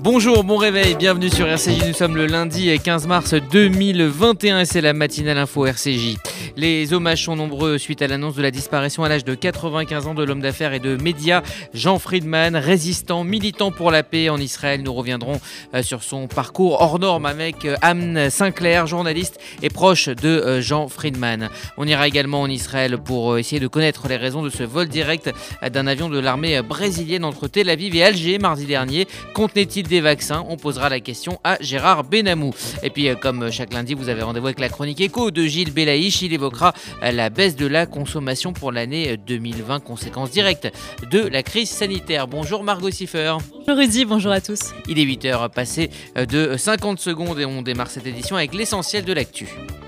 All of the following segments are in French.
Bonjour, bon réveil, bienvenue sur RCJ, nous sommes le lundi 15 mars 2021 et c'est la matinale info RCJ. Les hommages sont nombreux suite à l'annonce de la disparition à l'âge de 95 ans de l'homme d'affaires et de médias Jean Friedman, résistant, militant pour la paix en Israël. Nous reviendrons sur son parcours hors norme avec Anne Sinclair, journaliste et proche de Jean Friedman. On ira également en Israël pour essayer de connaître les raisons de ce vol direct d'un avion de l'armée brésilienne entre Tel Aviv et Alger mardi dernier. Contenait-il des vaccins? On posera la question à Gérard Benamou. Et puis comme chaque lundi, vous avez rendez-vous avec la chronique éco de Gilles Belaïch. Il évoquera la baisse de la consommation pour l'année 2020, conséquence directe de la crise sanitaire. Bonjour Margot Siffer. Bonjour Rudy, bonjour à tous. Il est 8h passé de 50 secondes et on démarre cette édition avec l'essentiel de l'actu.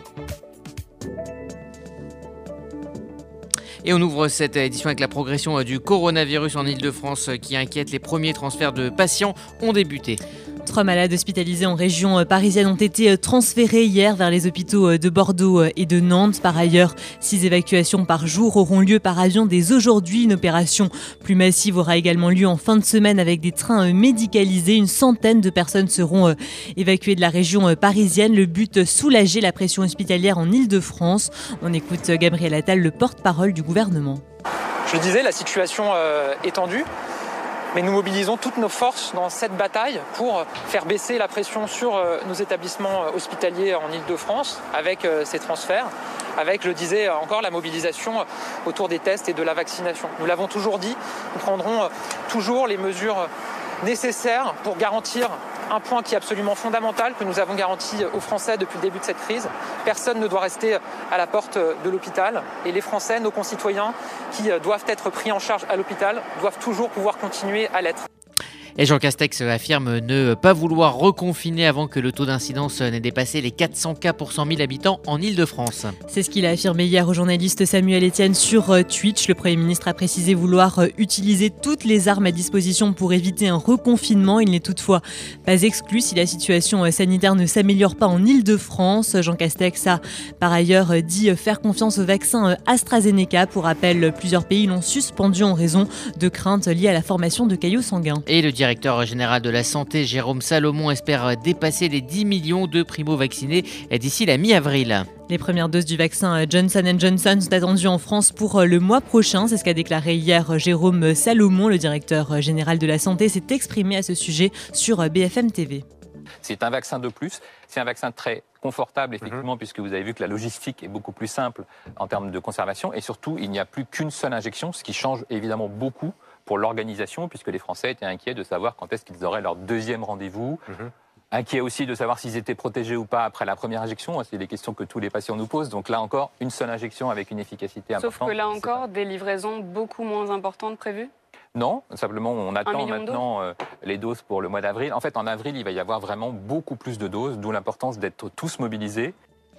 Et on ouvre cette édition avec la progression du coronavirus en Ile-de-France qui inquiète. Les premiers transferts de patients ont débuté. 3 malades hospitalisés en région parisienne ont été transférés hier vers les hôpitaux de Bordeaux et de Nantes. Par ailleurs, 6 évacuations par jour auront lieu par avion dès aujourd'hui. Une opération plus massive aura également lieu en fin de semaine avec des trains médicalisés. Une centaine de personnes seront évacuées de la région parisienne. Le but, soulager la pression hospitalière en Ile-de-France. On écoute Gabriel Attal, le porte-parole du gouvernement. Je le disais, la situation est tendue. Mais nous mobilisons toutes nos forces dans cette bataille pour faire baisser la pression sur nos établissements hospitaliers en Ile-de-France avec ces transferts, avec, je le disais encore, la mobilisation autour des tests et de la vaccination. Nous l'avons toujours dit, nous prendrons toujours les mesures nécessaires pour garantir un point qui est absolument fondamental, que nous avons garanti aux Français depuis le début de cette crise. Personne ne doit rester à la porte de l'hôpital. Et les Français, nos concitoyens, qui doivent être pris en charge à l'hôpital, doivent toujours pouvoir continuer à l'être. Et Jean Castex affirme ne pas vouloir reconfiner avant que le taux d'incidence n'ait dépassé les 400 cas pour 100 000 habitants en Ile-de-France. C'est ce qu'il a affirmé hier au journaliste Samuel Etienne sur Twitch. Le Premier ministre a précisé vouloir utiliser toutes les armes à disposition pour éviter un reconfinement. Il n'est toutefois pas exclu si la situation sanitaire ne s'améliore pas en Ile-de-France. Jean Castex a par ailleurs dit faire confiance au vaccin AstraZeneca. Pour rappel, plusieurs pays l'ont suspendu en raison de craintes liées à la formation de caillots sanguins. Et le directeur général de la Santé, Jérôme Salomon, espère dépasser les 10 millions de primo-vaccinés d'ici la mi-avril. Les premières doses du vaccin Johnson & Johnson sont attendues en France pour le mois prochain. C'est ce qu'a déclaré hier Jérôme Salomon. Le directeur général de la Santé s'est exprimé à ce sujet sur BFM TV. C'est un vaccin de plus, c'est un vaccin très confortable effectivement puisque vous avez vu que la logistique est beaucoup plus simple en termes de conservation et surtout il n'y a plus qu'une seule injection, ce qui change évidemment beaucoup pour l'organisation puisque les Français étaient inquiets de savoir quand est-ce qu'ils auraient leur deuxième rendez-vous. Inquiets aussi de savoir s'ils étaient protégés ou pas après la première injection. C'est des questions que tous les patients nous posent. Donc là encore, une seule injection avec une efficacité importante. Sauf que là encore, des livraisons beaucoup moins importantes prévues ? Non, simplement on attend maintenant les doses pour le mois d'avril. En fait, en avril, il va y avoir vraiment beaucoup plus de doses, d'où l'importance d'être tous mobilisés.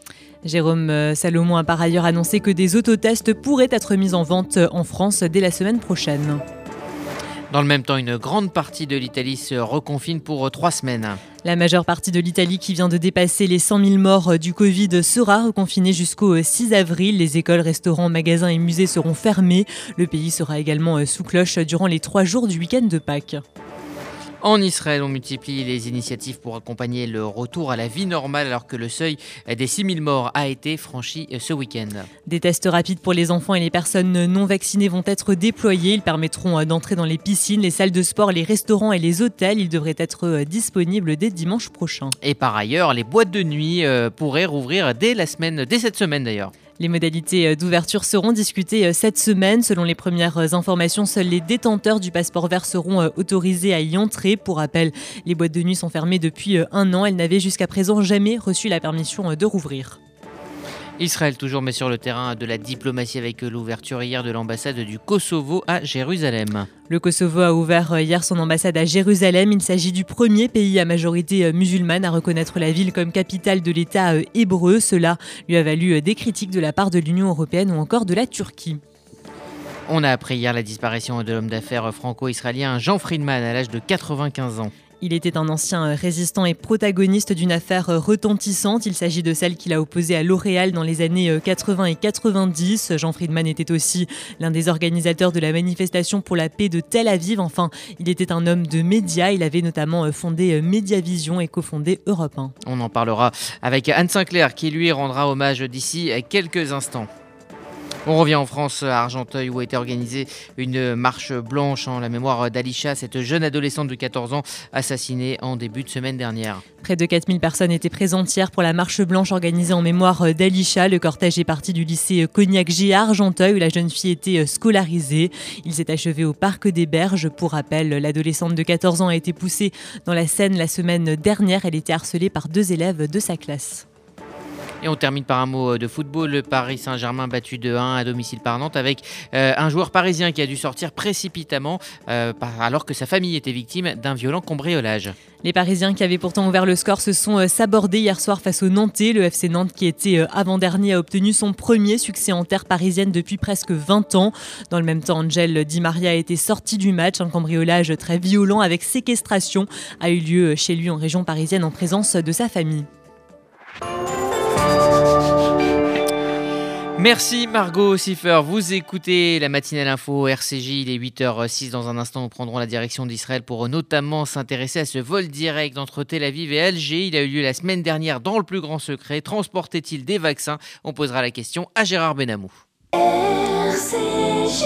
Jérôme Salomon a par ailleurs annoncé que des autotests pourraient être mis en vente en France dès la semaine prochaine. Dans le même temps, une grande partie de l'Italie se reconfine pour 3 semaines. La majeure partie de l'Italie qui vient de dépasser les 100 000 morts du Covid sera reconfinée jusqu'au 6 avril. Les écoles, restaurants, magasins et musées seront fermés. Le pays sera également sous cloche durant les 3 jours du week-end de Pâques. En Israël, on multiplie les initiatives pour accompagner le retour à la vie normale alors que le seuil des 6 000 morts a été franchi ce week-end. Des tests rapides pour les enfants et les personnes non vaccinées vont être déployés. Ils permettront d'entrer dans les piscines, les salles de sport, les restaurants et les hôtels. Ils devraient être disponibles dès dimanche prochain. Et par ailleurs, les boîtes de nuit pourraient rouvrir dès cette semaine d'ailleurs. Les modalités d'ouverture seront discutées cette semaine. Selon les premières informations, seuls les détenteurs du passeport vert seront autorisés à y entrer. Pour rappel, les boîtes de nuit sont fermées depuis 1 an. Elles n'avaient jusqu'à présent jamais reçu la permission de rouvrir. Israël toujours met sur le terrain de la diplomatie avec l'ouverture hier de l'ambassade du Kosovo à Jérusalem. Le Kosovo a ouvert hier son ambassade à Jérusalem. Il s'agit du premier pays à majorité musulmane à reconnaître la ville comme capitale de l'État hébreu. Cela lui a valu des critiques de la part de l'Union européenne ou encore de la Turquie. On a appris hier la disparition de l'homme d'affaires franco-israélien Jean Friedman à l'âge de 95 ans. Il était un ancien résistant et protagoniste d'une affaire retentissante. Il s'agit de celle qu'il a opposée à L'Oréal dans les années 80 et 90. Jean Friedman était aussi l'un des organisateurs de la manifestation pour la paix de Tel Aviv. Enfin, il était un homme de médias. Il avait notamment fondé Mediavision et cofondé Europe 1. On en parlera avec Anne Sinclair qui lui rendra hommage d'ici quelques instants. On revient en France, à Argenteuil, où a été organisée une marche blanche en la mémoire d'Alisha, cette jeune adolescente de 14 ans assassinée en début de semaine dernière. Près de 4000 personnes étaient présentes hier pour la marche blanche organisée en mémoire d'Alisha. Le cortège est parti du lycée Cognac-J à Argenteuil, où la jeune fille était scolarisée. Il s'est achevé au Parc des Berges. Pour rappel, l'adolescente de 14 ans a été poussée dans la Seine la semaine dernière. Elle était harcelée par 2 élèves de sa classe. Et on termine par un mot de football. Le Paris Saint-Germain battu de 1 à domicile par Nantes avec un joueur parisien qui a dû sortir précipitamment alors que sa famille était victime d'un violent cambriolage. Les Parisiens qui avaient pourtant ouvert le score se sont sabordés hier soir face aux Nantais. Le FC Nantes qui était avant-dernier a obtenu son premier succès en terre parisienne depuis presque 20 ans. Dans le même temps, Angel Di Maria a été sorti du match. Un cambriolage très violent avec séquestration a eu lieu chez lui en région parisienne en présence de sa famille. Merci Margot Siffer, vous écoutez la matinale info RCJ, il est 8h06. Dans un instant, nous prendrons la direction d'Israël pour notamment s'intéresser à ce vol direct entre Tel Aviv et Alger. Il a eu lieu la semaine dernière dans le plus grand secret. Transportait-il des vaccins? On posera la question à Gérard Benamou. RCJ.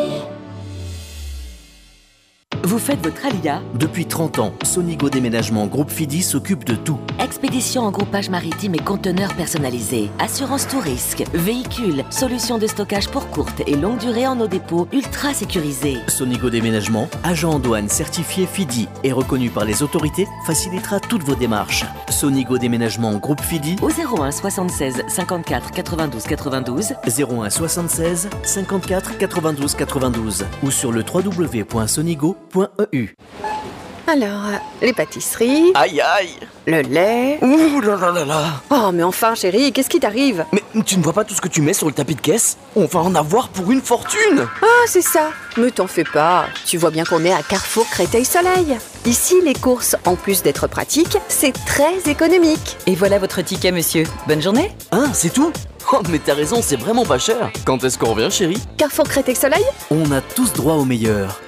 Vous faites votre alia? Depuis 30 ans, Sonigo Déménagement Groupe Fidi s'occupe de tout. Expédition en groupage maritime et conteneurs personnalisés, assurance tout risque, véhicules, solutions de stockage pour courte et longue durée en nos dépôts ultra sécurisés. Sonigo Déménagement, agent en douane certifié Fidi et reconnu par les autorités, facilitera toutes vos démarches. Sonigo Déménagement Groupe Fidi au 01 76 54 92 92, 01 76 54 92 92 ou sur le www.sonigo.eu. Alors, les pâtisseries, Aïe aïe. le lait... Ouh là là là là. Oh, mais enfin, chérie, qu'est-ce qui t'arrive? Mais tu ne vois pas tout ce que tu mets sur le tapis de caisse? On va en avoir pour une fortune. Ah, c'est ça. Mais t'en fais pas. Tu vois bien qu'on est à Carrefour Créteil-Soleil. Ici, les courses, en plus d'être pratiques, c'est très économique. Et voilà votre ticket, monsieur. Bonne journée. Ah, c'est tout? Oh, mais t'as raison, c'est vraiment pas cher. Quand est-ce qu'on revient, chérie? Carrefour Créteil-Soleil? On a tous droit au meilleur.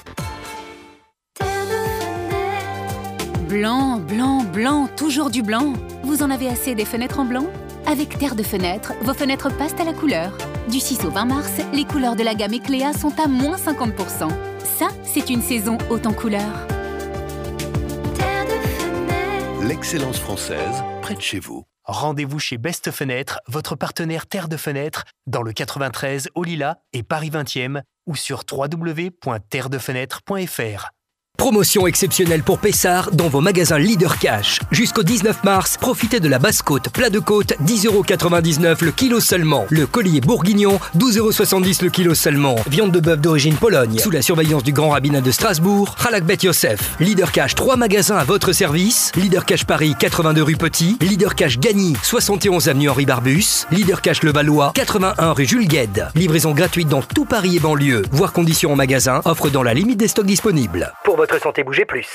Blanc, blanc, blanc, toujours du blanc. Vous en avez assez des fenêtres en blanc? Avec Terre de Fenêtre, vos fenêtres passent à la couleur. Du 6 au 20 mars, les couleurs de la gamme Ecléa sont à moins 50%. Ça, c'est une saison haute en couleurs. Terre de Fenêtre. L'excellence française, près de chez vous. Rendez-vous chez Best Fenêtre, votre partenaire Terre de Fenêtre, dans le 93 au Lilas et Paris 20e ou sur www.terredefenêtre.fr. Promotion exceptionnelle pour Pessard dans vos magasins Leader Cash. Jusqu'au 19 mars, profitez de la basse-côte, plat de côte, 10,99€ le kilo seulement. Le collier bourguignon, 12,70€ le kilo seulement. Viande de bœuf d'origine Pologne, sous la surveillance du grand rabbinat de Strasbourg, Halak Bet Yosef. Leader Cash, 3 magasins à votre service. Leader Cash Paris, 82 rue Petit. Leader Cash Gagny, 71 avenue Henri Barbus. Leader Cash Levallois, 81 rue Jules Guesde. Livraison gratuite dans tout Paris et banlieue. Voir conditions en magasin, offre dans la limite des stocks disponibles. Pour votre santé, bougez plus.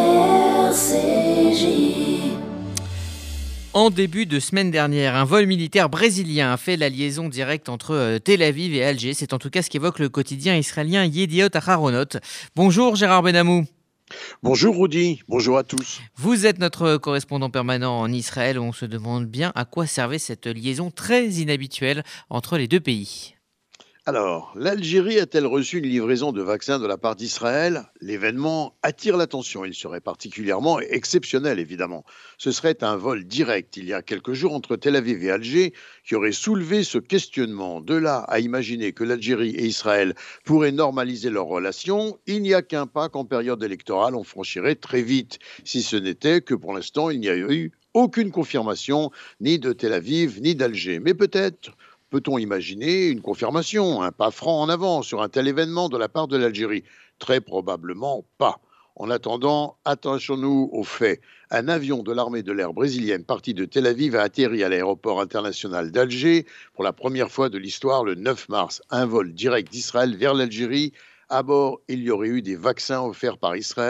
En début de semaine dernière, un vol militaire brésilien a fait la liaison directe entre Tel Aviv et Alger. C'est en tout cas ce qu'évoque le quotidien israélien Yediot Aharonot. Bonjour Gérard Benamou. Bonjour Rudy, bonjour à tous. Vous êtes notre correspondant permanent en Israël. On se demande bien à quoi servait cette liaison très inhabituelle entre les deux pays. Alors, l'Algérie a-t-elle reçu une livraison de vaccins de la part d'Israël? L'événement attire l'attention. Il serait particulièrement exceptionnel, évidemment. Ce serait un vol direct, il y a quelques jours, entre Tel Aviv et Alger, qui aurait soulevé ce questionnement. De là à imaginer que l'Algérie et Israël pourraient normaliser leurs relations, il n'y a qu'un pas qu'en période électorale, on franchirait très vite. Si ce n'était que pour l'instant, il n'y a eu aucune confirmation, ni de Tel Aviv, ni d'Alger. Mais peut-être peut-on imaginer une confirmation, un pas franc en avant sur un tel événement de la part de l'Algérie? Très probablement pas. En attendant, attachons-nous aux faits. Un avion de l'armée de l'air brésilienne parti de Tel Aviv a atterri à l'aéroport international d'Alger pour la première fois de l'histoire le 9 mars. Un vol direct d'Israël vers l'Algérie. À bord, il y aurait eu des vaccins offerts par Israël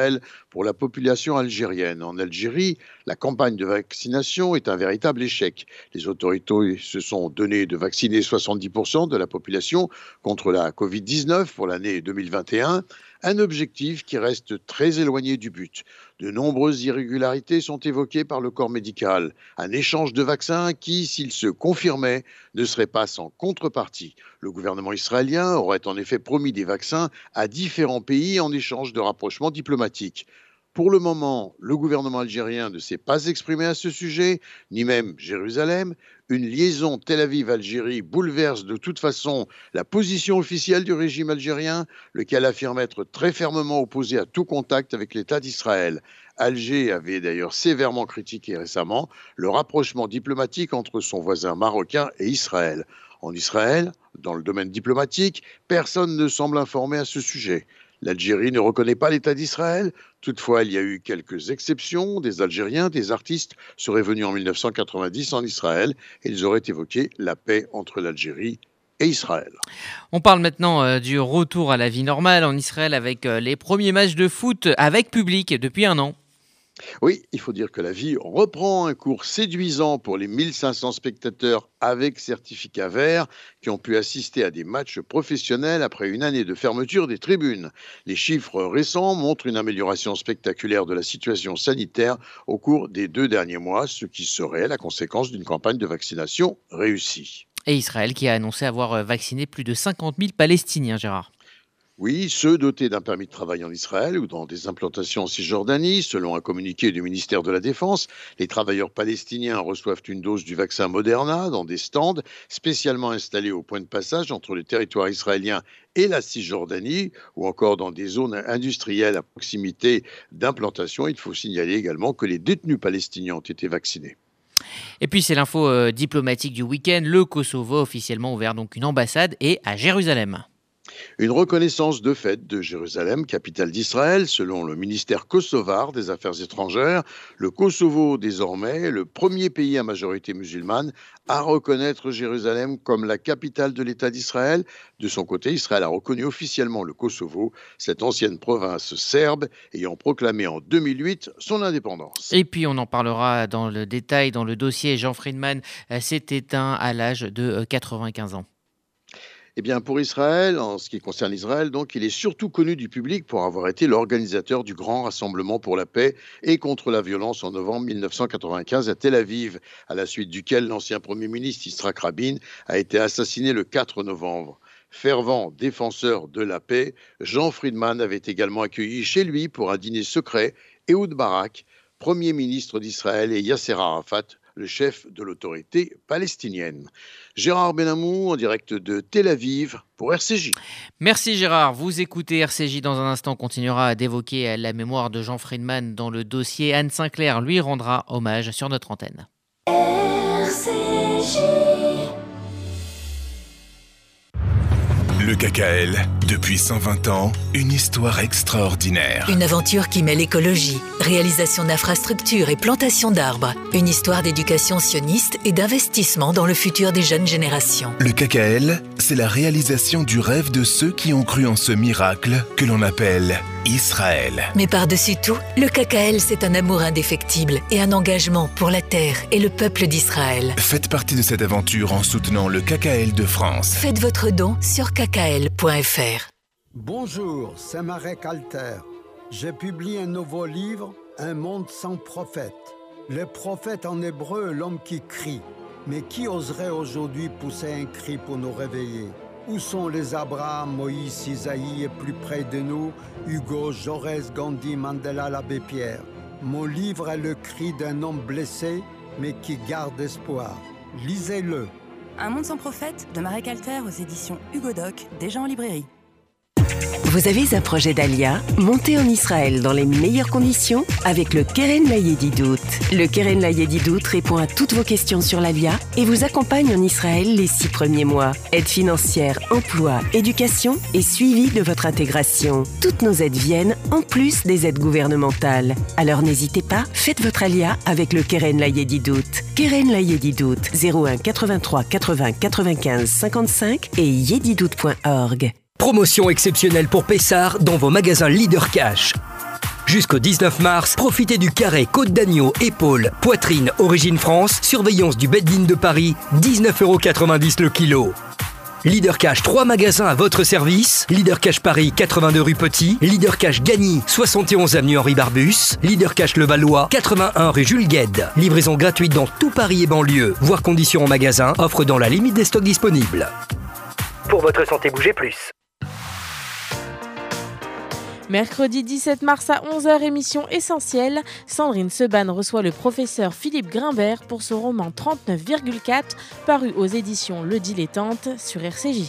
pour la population algérienne. En Algérie, la campagne de vaccination est un véritable échec. Les autorités se sont données de vacciner 70% de la population contre la Covid-19 pour l'année 2021, un objectif qui reste très éloigné du but. De nombreuses irrégularités sont évoquées par le corps médical. Un échange de vaccins qui, s'il se confirmait, ne serait pas sans contrepartie. Le gouvernement israélien aurait en effet promis des vaccins à différents pays en échange de rapprochements diplomatiques. Pour le moment, le gouvernement algérien ne s'est pas exprimé à ce sujet, ni même Jérusalem. Une liaison Tel Aviv-Algérie bouleverse de toute façon la position officielle du régime algérien, lequel affirme être très fermement opposé à tout contact avec l'État d'Israël. Alger avait d'ailleurs sévèrement critiqué récemment le rapprochement diplomatique entre son voisin marocain et Israël. En Israël, dans le domaine diplomatique, personne ne semble informé à ce sujet. L'Algérie ne reconnaît pas l'État d'Israël. Toutefois, il y a eu quelques exceptions. Des Algériens, des artistes seraient venus en 1990 en Israël et ils auraient évoqué la paix entre l'Algérie et Israël. On parle maintenant du retour à la vie normale en Israël avec les premiers matchs de foot avec public depuis un an. Oui, il faut dire que la vie reprend un cours séduisant pour les 1500 spectateurs avec certificat vert qui ont pu assister à des matchs professionnels après une année de fermeture des tribunes. Les chiffres récents montrent une amélioration spectaculaire de la situation sanitaire au cours des 2 derniers mois, ce qui serait la conséquence d'une campagne de vaccination réussie. Et Israël qui a annoncé avoir vacciné plus de 50 000 Palestiniens, Gérard. Oui, ceux dotés d'un permis de travail en Israël ou dans des implantations en Cisjordanie. Selon un communiqué du ministère de la Défense, les travailleurs palestiniens reçoivent une dose du vaccin Moderna dans des stands spécialement installés au point de passage entre le territoire israélien et la Cisjordanie ou encore dans des zones industrielles à proximité d'implantations. Il faut signaler également que les détenus palestiniens ont été vaccinés. Et puis c'est l'info diplomatique du week-end. Le Kosovo a officiellement ouvert donc une ambassade et à Jérusalem. Une reconnaissance de fait de Jérusalem, capitale d'Israël, selon le ministère kosovar des Affaires étrangères. Le Kosovo, désormais, le premier pays à majorité musulmane à reconnaître Jérusalem comme la capitale de l'État d'Israël. De son côté, Israël a reconnu officiellement le Kosovo, cette ancienne province serbe ayant proclamé en 2008 son indépendance. Et puis on en parlera dans le détail dans le dossier. Jean Friedman s'est éteint à l'âge de 95 ans. Eh bien, pour Israël, en ce qui concerne Israël, donc, il est surtout connu du public pour avoir été l'organisateur du grand rassemblement pour la paix et contre la violence en novembre 1995 à Tel Aviv, à la suite duquel l'ancien Premier ministre Yitzhak Rabin a été assassiné le 4 novembre. Fervent défenseur de la paix, Jean Friedman avait également accueilli chez lui pour un dîner secret Ehud Barak, Premier ministre d'Israël, et Yasser Arafat, le chef de l'autorité palestinienne. Gérard Benamou en direct de Tel Aviv pour RCJ. Merci Gérard, vous écoutez RCJ. Dans un instant, on continuera d'évoquer la mémoire de Jean Friedman dans le dossier. Anne Sinclair lui rendra hommage sur notre antenne. RCJ. Le KKL, depuis 120 ans, une histoire extraordinaire. Une aventure qui mêle écologie, réalisation d'infrastructures et plantation d'arbres. Une histoire d'éducation sioniste et d'investissement dans le futur des jeunes générations. Le KKL, c'est la réalisation du rêve de ceux qui ont cru en ce miracle que l'on appelle Israël. Mais par-dessus tout, le KKL, c'est un amour indéfectible et un engagement pour la terre et le peuple d'Israël. Faites partie de cette aventure en soutenant le KKL de France. Faites votre don sur kkl.fr. Bonjour, c'est Marek Alter. J'ai publié un nouveau livre, Un monde sans prophète. Le prophète en hébreu, l'homme qui crie. Mais qui oserait aujourd'hui pousser un cri pour nous réveiller? Où sont les Abraham, Moïse, Isaïe et plus près de nous, Hugo, Jaurès, Gandhi, Mandela, l'abbé Pierre? Mon livre est le cri d'un homme blessé, mais qui garde espoir. Lisez-le. Un monde sans prophète de Marek Alter aux éditions Hugo Doc, déjà en librairie. Vous avez un projet d'Alia? Montez en Israël dans les meilleures conditions avec le Keren Layedidout. Le Keren Layedidout répond à toutes vos questions sur l'Alia et vous accompagne en Israël les 6 premiers mois. Aide financière, emploi, éducation et suivi de votre intégration. Toutes nos aides viennent en plus des aides gouvernementales. Alors n'hésitez pas, faites votre Alia avec le Keren Layedidout. Keren Layedidout, 01 83 80 95 55 et yedidout.org. Promotion exceptionnelle pour Pessard dans vos magasins Leader Cash. Jusqu'au 19 mars, profitez du carré côte d'agneau, épaule, poitrine, origine France, surveillance du Bed-In de Paris, 19,90 € le kilo. Leader Cash, 3 magasins à votre service. Leader Cash Paris, 82 rue Petit. Leader Cash Gagny, 71 avenue Henri Barbus. Leader Cash Levallois, 81 rue Jules Guesde. Livraison gratuite dans tout Paris et banlieue. Voir conditions en magasin, offre dans la limite des stocks disponibles. Pour votre santé, bougez plus. Mercredi 17 mars à 11h, émission essentielle. Sandrine Seban reçoit le professeur Philippe Grimbert pour son roman 39,4, paru aux éditions Le Dilettante sur RCJ.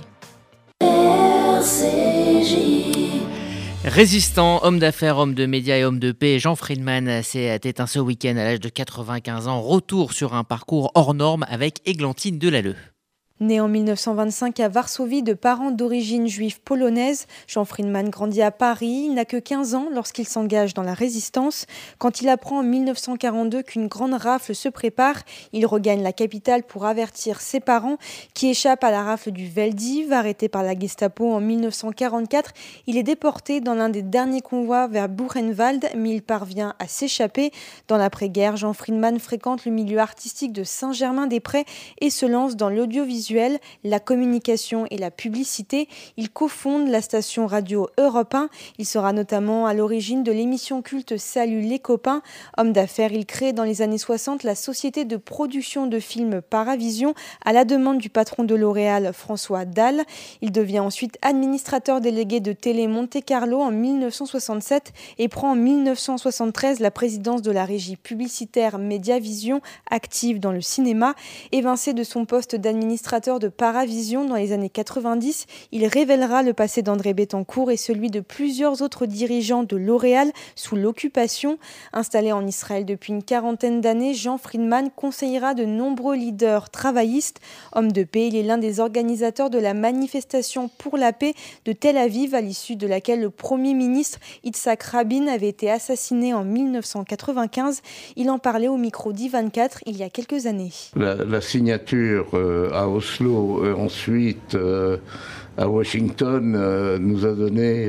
Résistant, homme d'affaires, homme de médias et homme de paix, Jean Friedman s'est éteint ce week-end à l'âge de 95 ans. Retour sur un parcours hors norme avec Églantine Delalleux. Né en 1925 à Varsovie de parents d'origine juive polonaise, Jean Friedman grandit à Paris. Il n'a que 15 ans lorsqu'il s'engage dans la résistance. Quand il apprend en 1942 qu'une grande rafle se prépare, il regagne la capitale pour avertir ses parents qui échappent à la rafle du Veldiv. Arrêté par la Gestapo en 1944, il est déporté dans l'un des derniers convois vers Buchenwald, mais il parvient à s'échapper. Dans l'après-guerre, Jean Friedman fréquente le milieu artistique de Saint-Germain-des-Prés et se lance dans l'audiovisuel, la communication et la publicité. Il cofonde la station radio Europe 1. Il sera notamment à l'origine de l'émission culte Salut les copains. Homme d'affaires, il crée dans les années 60 la société de production de films Paravision à la demande du patron de L'Oréal, François Dalle. Il devient ensuite administrateur délégué de Télé Monte Carlo en 1967 et prend en 1973 la présidence de la régie publicitaire Mediavision, active dans le cinéma. Évincé de son poste d'administrateur de Paravision dans les années 90, il révélera le passé d'André Bettencourt et celui de plusieurs autres dirigeants de L'Oréal sous l'occupation. Installé en Israël depuis une quarantaine d'années, Jean Friedman conseillera de nombreux leaders travaillistes. Homme de paix, il est l'un des organisateurs de la manifestation pour la paix de Tel Aviv, à l'issue de laquelle le Premier ministre Yitzhak Rabin avait été assassiné en 1995. Il en parlait au micro d'I24 il y a quelques années. La signature à Oslo, ensuite à Washington, nous a donné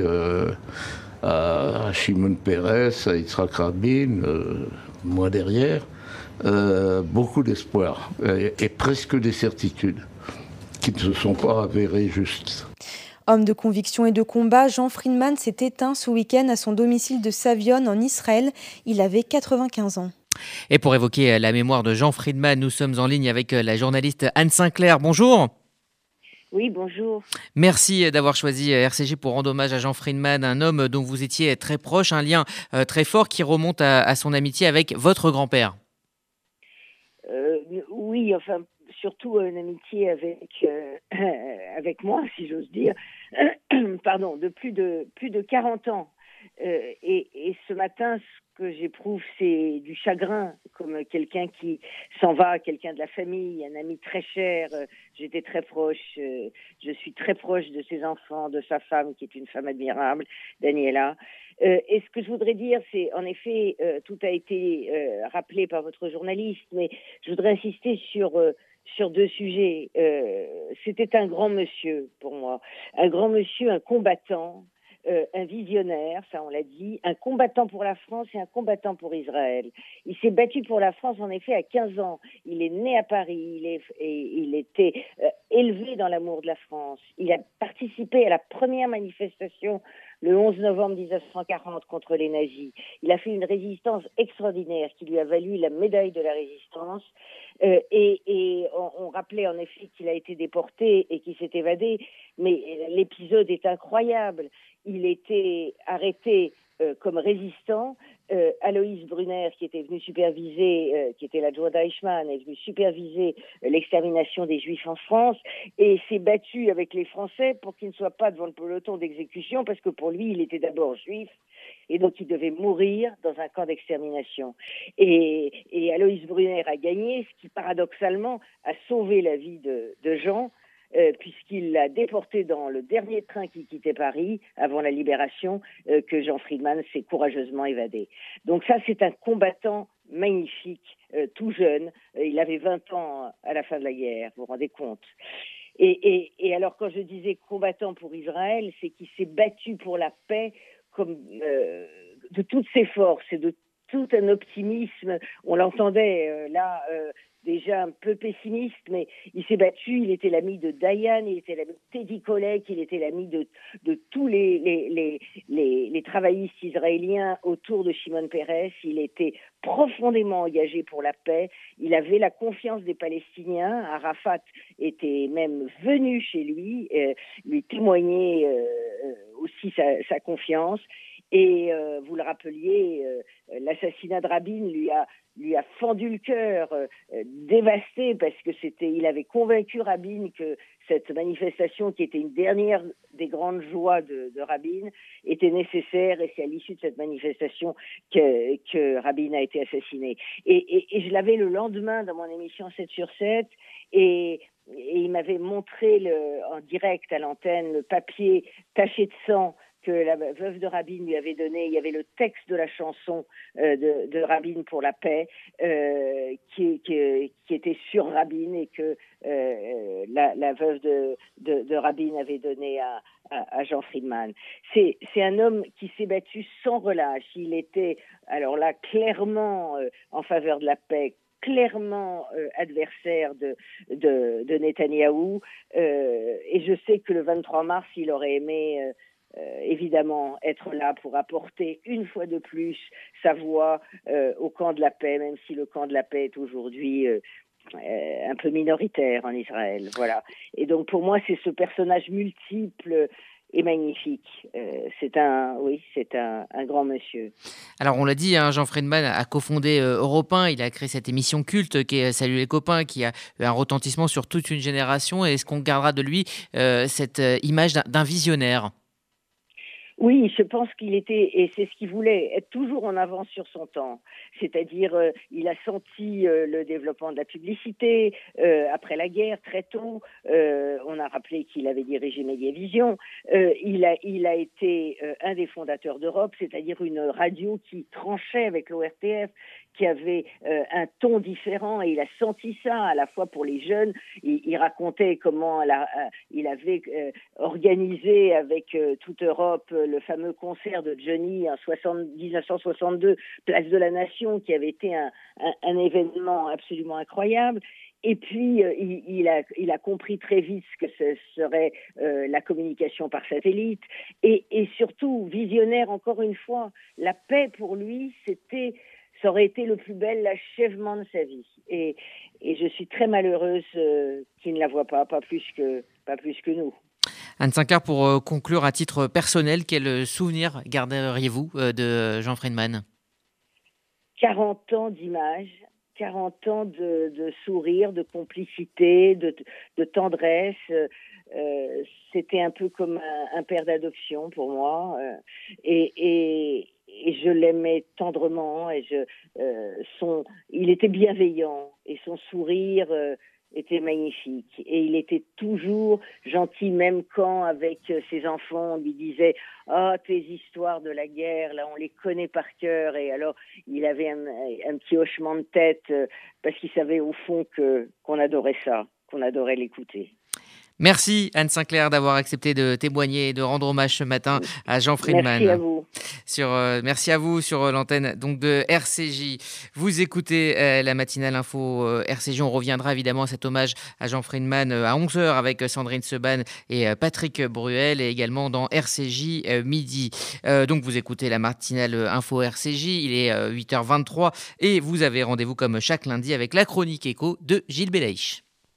à Shimon Peres, à Yitzhak Rabin, moi derrière, beaucoup d'espoir et presque des certitudes qui ne se sont pas avérées justes. Homme de conviction et de combat, Jean Friedman s'est éteint ce week-end à son domicile de Savion en Israël. Il avait 95 ans. Et pour évoquer la mémoire de Jean Friedman, nous sommes en ligne avec la journaliste Anne Sinclair. Bonjour. Oui, bonjour. Merci d'avoir choisi RCJ pour rendre hommage à Jean Friedman, un homme dont vous étiez très proche, un lien très fort qui remonte à son amitié avec votre grand-père. Oui, enfin, surtout une amitié avec moi, si j'ose dire, pardon, de plus de 40 ans. Et ce matin, ce que j'éprouve, c'est du chagrin, comme quelqu'un qui s'en va, quelqu'un de la famille, un ami très cher. J'étais très proche, je suis très proche de ses enfants, de sa femme, qui est une femme admirable, Daniela. Et ce que je voudrais dire, c'est, en effet, tout a été rappelé par votre journaliste, mais je voudrais insister sur deux sujets. C'était un grand monsieur pour moi, un grand monsieur, un combattant, un visionnaire, ça on l'a dit, un combattant pour la France et un combattant pour Israël. Il s'est battu pour la France en effet à 15 ans. Il est né à Paris, il était élevé dans l'amour de la France. Il a participé à la première manifestation le 11 novembre 1940 contre les nazis. Il a fait une résistance extraordinaire qui lui a valu la médaille de la résistance. Et on rappelait en effet qu'il a été déporté et qu'il s'est évadé, mais l'épisode est incroyable. Il était arrêté comme résistant. Aloïs Brunner, qui était venu superviser, qui était l'adjoint d'Eichmann, est venu superviser l'extermination des Juifs en France et s'est battu avec les Français pour qu'il ne soit pas devant le peloton d'exécution, parce que pour lui, il était d'abord juif et donc il devait mourir dans un camp d'extermination. Et Aloïs Brunner a gagné, ce qui paradoxalement a sauvé la vie de Jean, puisqu'il l'a déporté dans le dernier train qui quittait Paris avant la libération, que Jean Friedman s'est courageusement évadé. Donc ça, c'est un combattant magnifique, tout jeune. Il avait 20 ans à la fin de la guerre, vous vous rendez compte. Et alors, quand je disais combattant pour Israël, c'est qu'il s'est battu pour la paix toutes ses forces et de tout un optimisme. On l'entendait déjà un peu pessimiste, mais il s'est battu. Il était l'ami de Diane, il était l'ami de Teddy Kollek, il était l'ami de tous les travaillistes israéliens autour de Shimon Peres. Il était profondément engagé pour la paix. Il avait la confiance des Palestiniens. Arafat était même venu chez lui témoigner aussi sa confiance. Et vous le rappeliez, l'assassinat de Rabin lui a fendu le cœur, dévasté, parce que il avait convaincu Rabin que cette manifestation, qui était une dernière des grandes joies de Rabin, était nécessaire, et c'est à l'issue de cette manifestation que Rabin a été assassiné. Et je l'avais le lendemain dans mon émission 7 sur 7, et il m'avait montré en direct à l'antenne le papier taché de sang que la veuve de Rabin lui avait donné. Il y avait le texte de la chanson de Rabin pour la paix qui était sur Rabin, et que la veuve de Rabin avait donné à Jean Friedman. C'est un homme qui s'est battu sans relâche. Il était alors là clairement en faveur de la paix, clairement adversaire de Netanyahou, et je sais que le 23 mars, il aurait aimé évidemment être là pour apporter une fois de plus sa voix au camp de la paix, même si le camp de la paix est aujourd'hui un peu minoritaire en Israël. Voilà. Et donc pour moi, c'est ce personnage multiple et magnifique. C'est un grand monsieur. Alors on l'a dit, Jean Friedman a cofondé Europe 1, il a créé cette émission culte qui est Salut les copains, qui a eu un retentissement sur toute une génération. Et est-ce qu'on gardera de lui cette image d'un visionnaire ? Oui, je pense qu'il était, et c'est ce qu'il voulait, être toujours en avance sur son temps. C'est-à-dire, il a senti le développement de la publicité après la guerre, très tôt. On a rappelé qu'il avait dirigé Mediavision. Il a été un des fondateurs d'Europe, c'est-à-dire une radio qui tranchait avec l'ORTF, qui avait un ton différent, et il a senti ça à la fois pour les jeunes. Il racontait comment il avait organisé avec toute Europe le fameux concert de Johnny en 1962, Place de la Nation, qui avait été un événement absolument incroyable. Et puis, il a compris très vite ce que ce serait la communication par satellite. Et surtout, visionnaire, encore une fois, la paix pour lui, ça aurait été le plus bel achèvement de sa vie. Et je suis très malheureuse qu'il ne la voit pas plus que nous. Anne Sinclair, pour conclure à titre personnel, quel souvenir garderiez-vous de Jean Friedman ? 40 ans d'images, 40 ans de sourire, de complicité, de tendresse. C'était un peu comme un père d'adoption pour moi. Et je l'aimais tendrement. Il était bienveillant, et son sourire était magnifique. Et il était toujours gentil, même quand, avec ses enfants, on lui disait « Ah, tes histoires de la guerre, là, on les connaît par cœur. » Et alors, il avait un petit hochement de tête parce qu'il savait au fond qu'on adorait ça, qu'on adorait l'écouter. Merci Anne Sinclair d'avoir accepté de témoigner et de rendre hommage ce matin à Jean Friedman. Merci à vous. Merci à vous sur l'antenne donc de RCJ. Vous écoutez la matinale info RCJ. On reviendra évidemment à cet hommage à Jean Friedman à 11h avec Sandrine Seban et Patrick Bruel, et également dans RCJ midi. Donc vous écoutez la matinale info RCJ. Il est 8h23 et vous avez rendez-vous comme chaque lundi avec la chronique éco de Gilles Belaïch.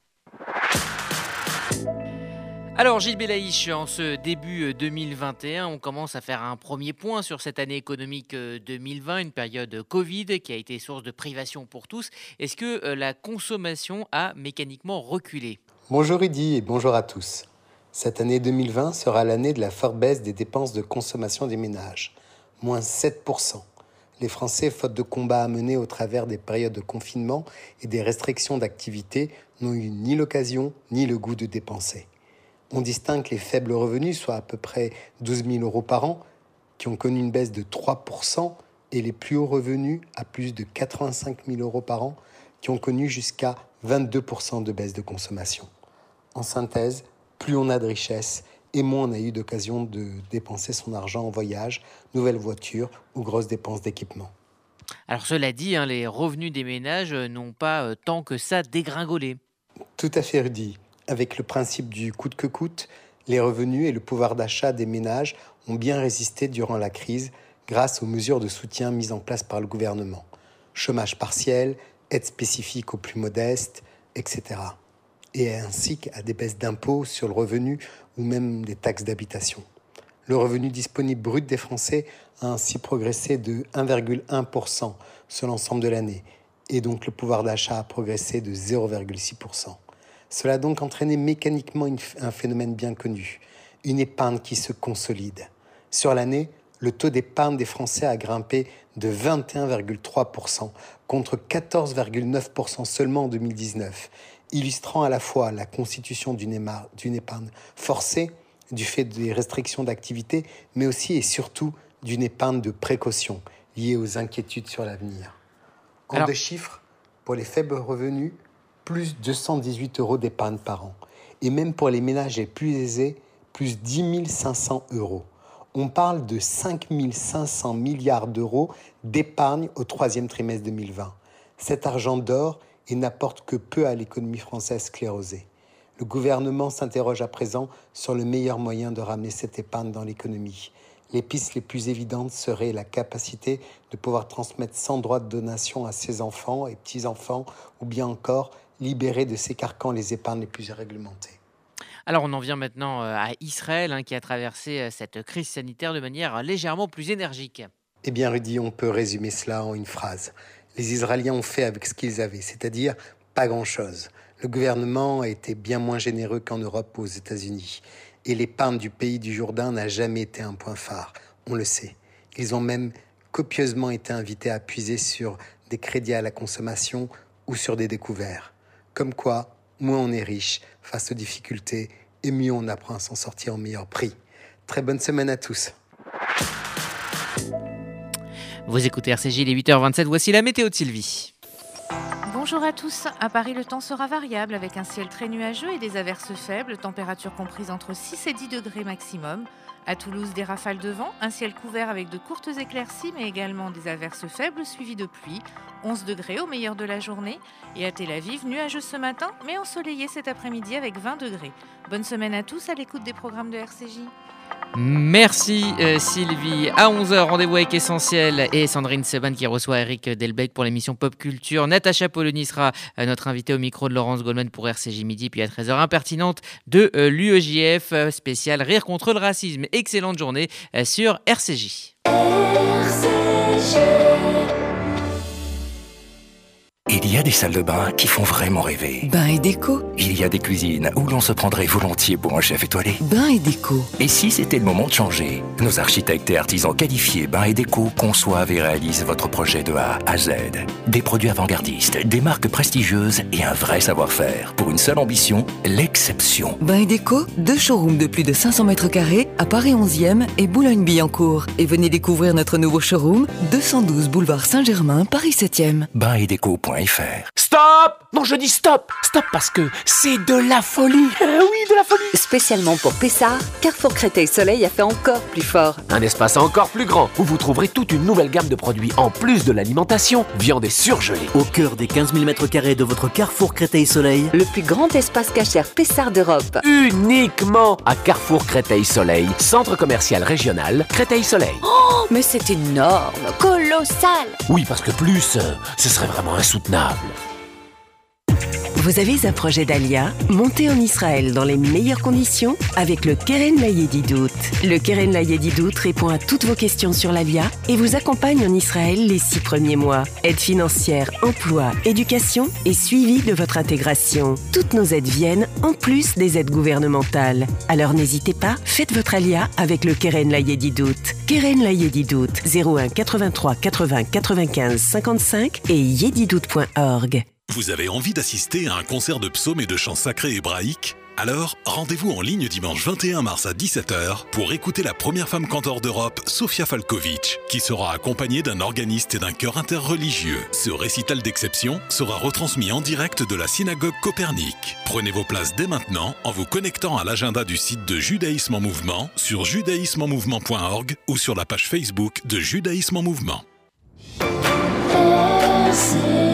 Alors Gilles Belaïch, en ce début 2021, on commence à faire un premier point sur cette année économique 2020, une période Covid qui a été source de privation pour tous. Est-ce que la consommation a mécaniquement reculé ? Bonjour Rudy et bonjour à tous. Cette année 2020 sera l'année de la forte baisse des dépenses de consommation des ménages, moins 7%. Les Français, faute de combats à mener au travers des périodes de confinement et des restrictions d'activité, n'ont eu ni l'occasion ni le goût de dépenser. On distingue les faibles revenus, soit à peu près 12 000 euros par an, qui ont connu une baisse de 3%, et les plus hauts revenus, à plus de 85 000 euros par an, qui ont connu jusqu'à 22% de baisse de consommation. En synthèse, plus on a de richesse, et moins on a eu d'occasion de dépenser son argent en voyage, nouvelle voiture ou grosses dépenses d'équipement. Alors cela dit, les revenus des ménages n'ont pas tant que ça dégringolé. Tout à fait, Rudy. Avec le principe du coûte que coûte, les revenus et le pouvoir d'achat des ménages ont bien résisté durant la crise grâce aux mesures de soutien mises en place par le gouvernement. Chômage partiel, aide spécifique aux plus modestes, etc. Et ainsi qu'à des baisses d'impôts sur le revenu ou même des taxes d'habitation. Le revenu disponible brut des Français a ainsi progressé de 1,1% sur l'ensemble de l'année, et donc le pouvoir d'achat a progressé de 0,6%. Cela a donc entraîné mécaniquement un phénomène bien connu, une épargne qui se consolide. Sur l'année, le taux d'épargne des Français a grimpé de 21,3% contre 14,9% seulement en 2019, illustrant à la fois la constitution d'une épargne forcée du fait des restrictions d'activité, mais aussi et surtout d'une épargne de précaution liée aux inquiétudes sur l'avenir. En deux chiffres, pour les faibles revenus, plus 218 € d'épargne par an. Et même pour les ménages les plus aisés, plus 10 500 €. On parle de 5 500 milliards d'euros d'épargne au troisième trimestre 2020. Cet argent dort et n'apporte que peu à l'économie française sclérosée. Le gouvernement s'interroge à présent sur le meilleur moyen de ramener cette épargne dans l'économie. Les pistes les plus évidentes seraient la capacité de pouvoir transmettre sans droit de donation à ses enfants et petits-enfants, ou bien encore libérer de ces carcans les épargnes les plus réglementées. Alors on en vient maintenant à Israël qui a traversé cette crise sanitaire de manière légèrement plus énergique. Eh bien Rudy, on peut résumer cela en une phrase. Les Israéliens ont fait avec ce qu'ils avaient, c'est-à-dire pas grand-chose. Le gouvernement a été bien moins généreux qu'en Europe ou aux États-Unis. Et l'épargne du pays du Jourdain n'a jamais été un point phare, on le sait. Ils ont même copieusement été invités à puiser sur des crédits à la consommation ou sur des découverts. Comme quoi, moins on est riche face aux difficultés et mieux on apprend à s'en sortir au meilleur prix. Très bonne semaine à tous. Vous écoutez RCJ, il est 8h27, voici la météo de Sylvie. Bonjour à tous. À Paris, le temps sera variable avec un ciel très nuageux et des averses faibles, température comprise entre 6 et 10 degrés maximum. À Toulouse, des rafales de vent, un ciel couvert avec de courtes éclaircies, mais également des averses faibles suivies de pluie. 11 degrés au meilleur de la journée. Et à Tel Aviv, nuageux ce matin, mais ensoleillé cet après-midi avec 20 degrés. Bonne semaine à tous à l'écoute des programmes de RCJ. Merci Sylvie. À 11h, rendez-vous avec Essentiel et Sandrine Seban qui reçoit Eric Delbecq pour l'émission Pop Culture. Natacha Polony sera notre invitée au micro de Laurence Goldman pour RCJ Midi. Puis à 13h, Impertinente de l'UEJF spécial Rire contre le racisme. Excellente journée sur RCJ. Il y a des salles de bain qui font vraiment rêver. Bain et déco. Il y a des cuisines où l'on se prendrait volontiers pour un chef étoilé. Bain et déco. Et si c'était le moment de changer? Nos architectes et artisans qualifiés Bain et déco conçoivent et réalisent votre projet de A à Z. Des produits avant-gardistes, des marques prestigieuses et un vrai savoir-faire. Pour une seule ambition, l'exception. Bain et déco, 2 showrooms de plus de 500 mètres carrés à Paris 11e et Boulogne-Billancourt. Et venez découvrir notre nouveau showroom, 212 boulevard Saint-Germain, Paris 7e. Bainetdeco.fr. Stop! Non, je dis stop! Stop parce que c'est de la folie! Oui, de la folie! Spécialement pour Pessard, Carrefour Créteil Soleil a fait encore plus fort. Un espace encore plus grand où vous trouverez toute une nouvelle gamme de produits en plus de l'alimentation, viande et surgelée. Au cœur des 15 000 m² de votre Carrefour Créteil Soleil, Le plus grand espace cachère Pessard d'Europe. Uniquement à Carrefour Créteil Soleil, centre commercial régional Créteil Soleil. Oh, mais c'est énorme, colossal! Oui, parce que plus, ce serait vraiment insoutenable. Vous avez un projet d'Alia? Montez en Israël dans les meilleures conditions avec le Keren Layedidout. Le Keren Layedidout répond à toutes vos questions sur l'Alia et vous accompagne en Israël les 6 premiers mois. Aide financière, emploi, éducation et suivi de votre intégration. Toutes nos aides viennent en plus des aides gouvernementales. Alors n'hésitez pas, faites votre Alia avec le Keren Layedidout. Keren Layedidout, 01 83 80 95 55 et yedidout.org. Vous avez envie d'assister à un concert de psaumes et de chants sacrés hébraïques ? Alors, rendez-vous en ligne dimanche 21 mars à 17h pour écouter la première femme cantor d'Europe, Sofia Falkovic, qui sera accompagnée d'un organiste et d'un chœur interreligieux. Ce récital d'exception sera retransmis en direct de la synagogue Copernic. Prenez vos places dès maintenant en vous connectant à l'agenda du site de Judaïsme en Mouvement sur judaïsmemenmouvement.org ou sur la page Facebook de Judaïsme en Mouvement.